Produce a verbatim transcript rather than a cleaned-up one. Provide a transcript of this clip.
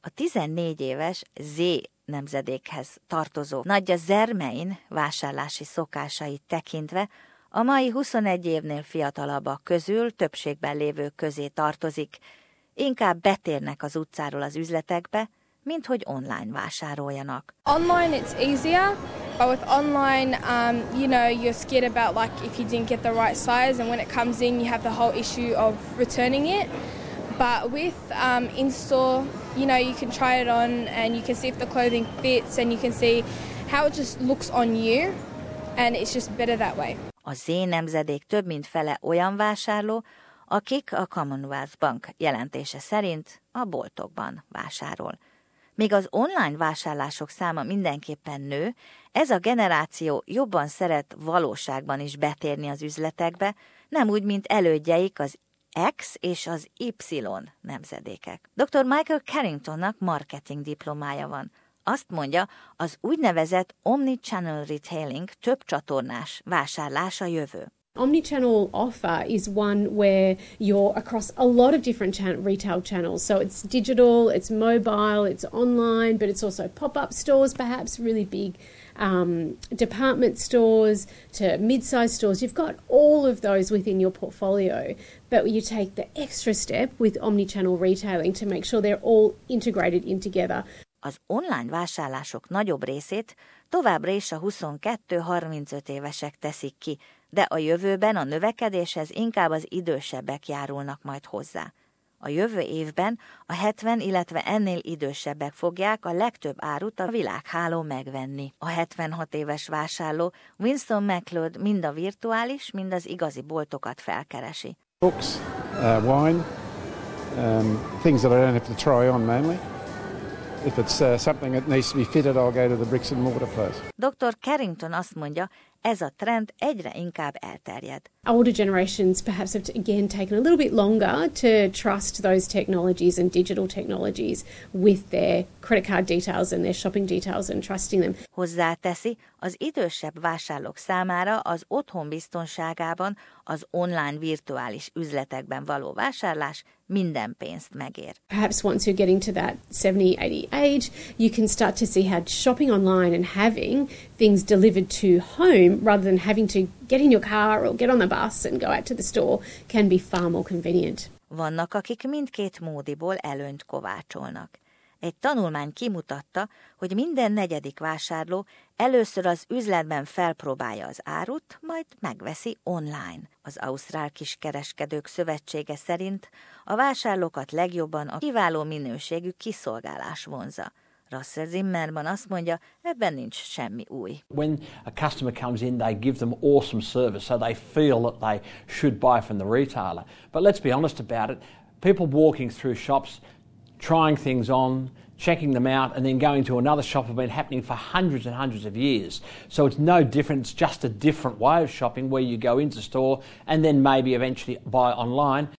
A tizennégy éves Z nemzedékhez tartozó Nadja Zermein vásárlási szokásait tekintve a mai huszonegy évnél fiatalabbak közül többségben lévők közé tartozik. Inkább betérnek az utcáról az üzletekbe, mint hogy online vásároljanak. Online it's easier, but with online, um, you know, you're scared about like if you didn't get the right size, and when it comes in, you have the whole issue of returning it. But with um, in-store, you know, you can try it on and you can see if the clothing fits and you can see how it just looks on you, and it's just better that way. A Z nemzedék több mint fele olyan vásárló, akik a Commonwealth Bank jelentése szerint a boltokban vásárol. Míg az online vásárlások száma mindenképpen nő, ez a generáció jobban szeret valóságban is betérni az üzletekbe, nem úgy, mint elődjeik az X és az Y nemzedékek. doktor Michael Carringtonnak marketing diplomája van. Azt mondja, az úgynevezett omnichannel retailing több csatornás vásárlás a jövő. Omnichannel offer is one where you're across a lot of different chan- retail channels. So it's digital, it's mobile, it's online, but it's also pop-up stores, perhaps really big um, department stores to mid-sized stores. You've got all of those within your portfolio, but you take the extra step with omnichannel retailing to make sure they're all integrated in together. Az online vásárlások nagyobb részét továbbra is a huszonkettő-harmincöt évesek teszik ki, de a jövőben a növekedéshez inkább az idősebbek járulnak majd hozzá. A jövő évben a hetven, illetve ennél idősebbek fogják a legtöbb árut a világhálón megvenni. A hetvenhat éves vásárló Winston McLeod mind a virtuális, mind az igazi boltokat felkeresi. Books, uh, wine, um, things that I don't have to try on mainly. If it's uh, something that needs to be fitted, I'll go to the bricks and mortar place. doktor Carrington azt mondja, ez a trend egyre inkább elterjed. Older generations perhaps have, to, again, taken a little bit longer to trust those technologies and digital technologies with their credit card details and their shopping details and trusting them. Hozzáteszi, az idősebb vásárlók számára az otthon biztonságában az online virtuális üzletekben való vásárlás minden pénzt megér. Perhaps once you're getting to that seventy, eighty age, you can start to see how shopping online and having things delivered to home rather than having to get in your car or get on the bus and go out to the store can be far more convenient. Vannak, akik mindkét módiból előnyt kovácsolnak. Egy tanulmány kimutatta, hogy minden negyedik vásárló először az üzletben felpróbálja az árut, majd megveszi online. Az Ausztrál Kiskereskedők Szövetsége szerint a vásárlókat legjobban a kiváló minőségű kiszolgálás vonzza. Russell Zimmerman azt mondja, ebben nincs semmi új. When a customer comes in, they give them awesome service, so they feel that they should buy from the retailer. But let's be honest about it, people walking through shops, trying things on, checking them out, and then going to another shop have been happening for hundreds and hundreds of years. So it's no different, it's just a different way of shopping where you go into store and then maybe eventually buy online.